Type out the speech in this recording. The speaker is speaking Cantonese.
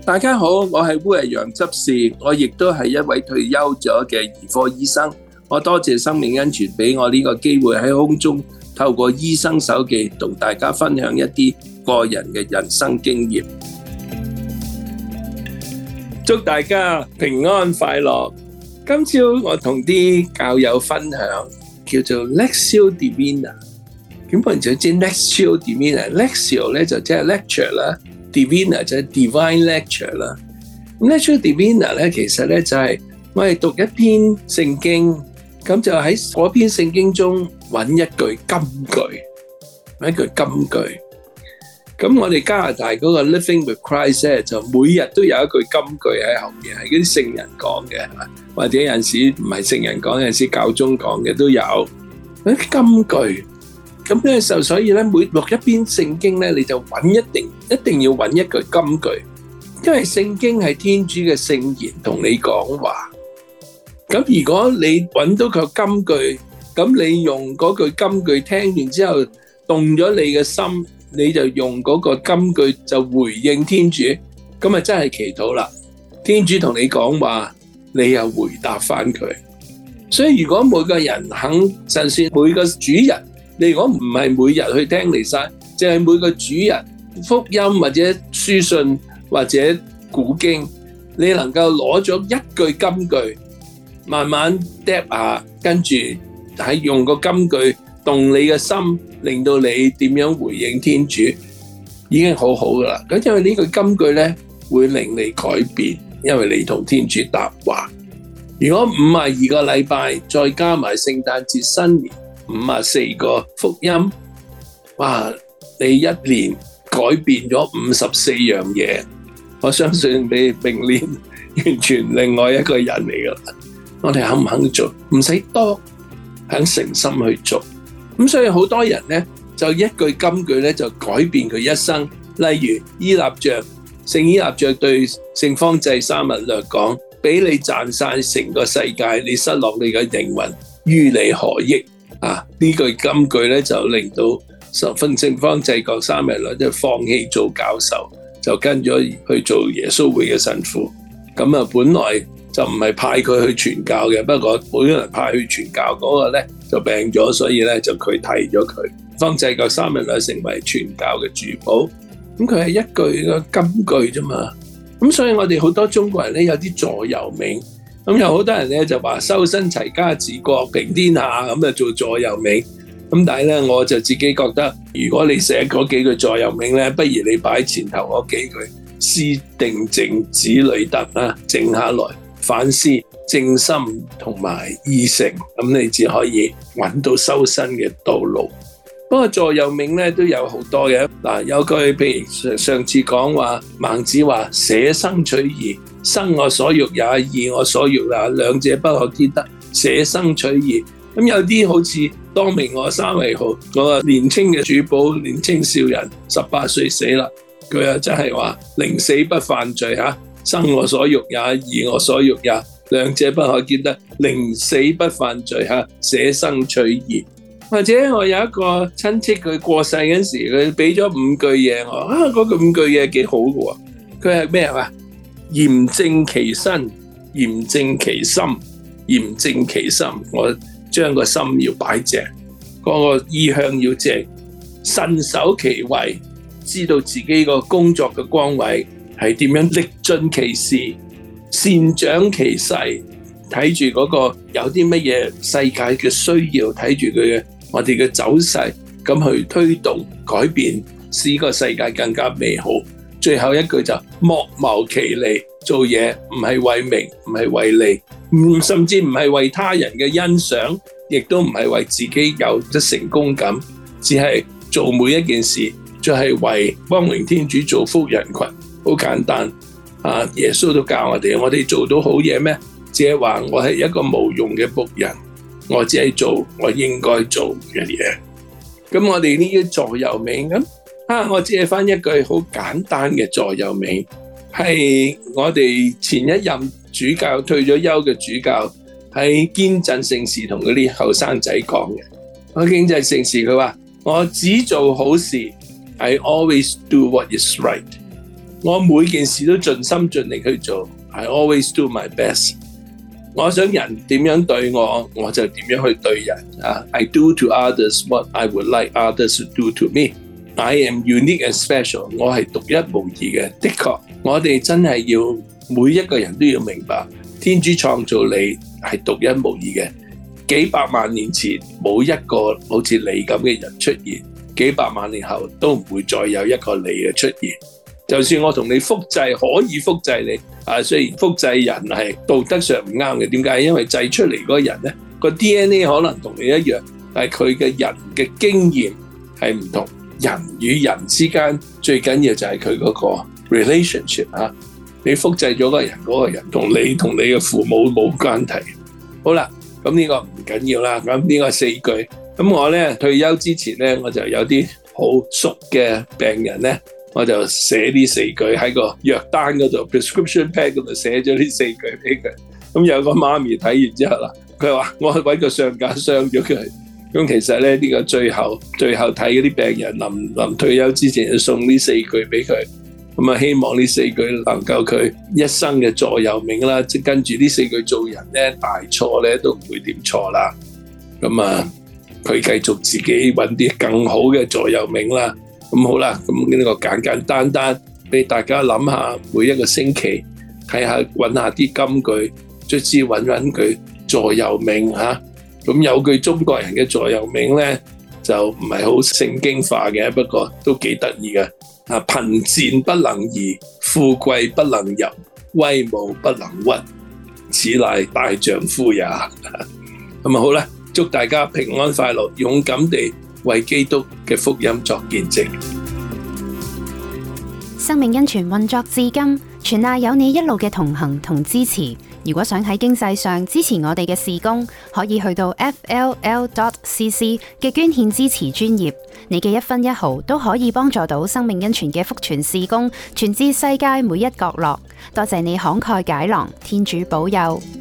大家好，我係烏日陽執事，我亦都係一位退休咗嘅兒科醫生。我多謝生命恩泉俾我呢個機會喺空中透過醫生手記同大家分享一啲個人嘅人生經驗。祝大家平安快樂。今朝我同啲教友分享叫做 Lectio Divina。咁本人就知 Lectio Divina，Lectio 咧就即係 lecture 啦。Divina 就係 divine lecture 啦。咁 Lectio Divina 咧，其實咧就係我哋讀一篇聖經，咁就喺嗰篇聖經中揾一句金句，揾一句金句。咁我哋加拿大嗰個 Living with Christ 咧，就每日都有一句金句喺後面，係嗰啲聖人講嘅，或者有陣時唔係聖人講，有陣時教宗講嘅都有嗰啲金句。咁咧就所以咧，每讀一篇聖經咧，你就揾一定要揾一句金句，因為聖經係天主嘅聖言同你講話。咁如果你揾到個金句，咁你用嗰句金句聽完之後動咗你嘅心，你就用嗰個金句就回應天主，咁啊真係祈禱啦。天主同你講話，你又回答翻佢。所以如果每個人肯，就算每個主日，你如果唔係每日去聽彌撒，淨係每個主日福音或者書信或者古經，你能夠攞咗一句金句，慢慢嗒下，跟住喺用個金句動你嘅心，令到你點樣回應天主，已經好好噶啦。咁因為呢句金句咧，會令你改變，因為你同天主答話。如果52個禮拜，再加埋聖誕節、新年，54個福音，哇！你一年改變咗54樣嘢，我相信你明年完全另外一個人嚟噶啦。我哋肯唔肯做？唔使多，肯誠心去做。咁所以好多人咧，就一句金句咧，就改變佢一生。例如依納爵，聖依納爵對聖方濟沙勿略講：俾你賺晒成個世界，你失落你嘅靈魂，於你何益？啊！呢句金句咧，就令到聖方濟各沙勿略即係放棄做教授，就跟咗去做耶穌會嘅神父。咁啊，本來就唔係派佢去傳教嘅，不過本來派去傳教嗰個咧就病咗，所以咧就佢替咗佢。方濟各沙勿略成為傳教嘅主保。咁佢係一句嘅金句啫嘛。咁所以我哋好多中國人咧有啲座右銘。咁有好多人咧就話修身齊家治國平天下，咁就做座右銘。咁但係咧，我就自己覺得，如果你寫嗰幾句座右銘咧，不如你擺前頭嗰幾句：思定靜，子女德啦，靜下來反思正心同埋意誠，咁你只可以揾到修身嘅道路。不過座右銘咧都有好多嘅。嗱，有句譬如上次講話，孟子話捨生取義。生我所欲也，義我所欲也，兩者不可兼得。捨生取義，咁有啲好似當明我三為號嗰個年青嘅主保，年青少人18歲死啦，佢又真係話寧死不犯罪吓，生我所欲也，義我所欲也，兩者不可兼得，寧死不犯罪吓，捨生取義。或者我有一個親戚，佢過世嗰時，佢俾咗5句嘢我，嗰個5句嘢幾好嘅喎。佢係咩啊？嚴正其身，嚴正其心，嚴正其心。我將個心要擺正，嗰個意向要正，慎守其位，知道自己個工作嘅崗位係點樣，力盡其事，善長其勢，睇住嗰個有啲乜嘢世界嘅需要，睇住佢嘅我哋嘅走勢，咁去推動改變，使個世界更加美好。最後一句就莫謀其利，做嘢唔係為名，唔係為利，甚至唔係為他人嘅欣賞，亦都唔係為自己有得成功感，只係做每一件事就係為光榮天主，造福人群。好簡單啊！耶穌都教我哋做到好嘢咩？只係話我係一個無用嘅僕人，我只係做我應該做嘅嘢。咁我哋呢啲座右銘咁。我只係翻一句好簡單嘅座右銘，係我哋前一任主教退咗休嘅主教喺堅振聖事同嗰啲後生仔講嘅。堅振聖事佢話：我只做好事 ，I always do what is right。 我每件事都盡心盡力去做。I always do my best。我想人點樣對我，我就點樣去對人。I do to others what I would like others to do to me。I am unique and special。我係獨一無二嘅。的確，我哋真係要每一個人都要明白，天主創造你係獨一無二嘅。幾百萬年前冇一個好似你咁嘅人出現，幾百萬年後都唔會再有一個你嘅出現。就算我同你複製，可以複製你，雖然複製人係道德上唔啱嘅，點解？因為製出嚟嗰個人呢，個 DNA 可能同你一樣，但係佢嘅人嘅經驗係唔同。人與人之間最緊要就係佢嗰個 relationship 啊！你複製咗個人，嗰個人同你嘅父母冇關係。好啦，咁呢個唔緊要啦。咁呢個4句，咁我呢退休之前呢，我就有啲好熟嘅病人呢，我就寫呢4句喺個藥單嗰度 prescription pad 嗰度寫咗呢4句俾佢。咁有個媽咪睇完之後啦，佢話我去搵個上架箱咗佢。咁其實咧呢個最後睇嗰啲病人臨退休之前就送呢4句俾佢。咁啊希望呢4句能夠佢一生嘅座右銘啦，即跟住呢4句做人咧，大錯咧都唔會點錯啦。咁啊佢繼續自己搵啲更好嘅座右銘啦。咁好啦，咁呢個簡單俾大家諗下，每一個星期睇下搵下啲金句，卒之搵句座右銘吓。咁有句中國人嘅座右銘咧，就唔係好聖經化嘅，不過都幾得意嘅。貧賤不能移，富貴不能入，威武不能屈，此乃大丈夫也。咁好啦，祝大家平安快樂，勇敢地為基督嘅福音作見證。 生命恩泉運作至今，全賴有你一路嘅同行同支持。如果想喺經濟上支持我哋嘅事工，可以去到 fll.cc 嘅捐獻支持專頁，你嘅1分1毫都可以幫助到生命恩泉嘅福傳事工，傳至世界每一角落。多謝你慷慨解囊，天主保佑。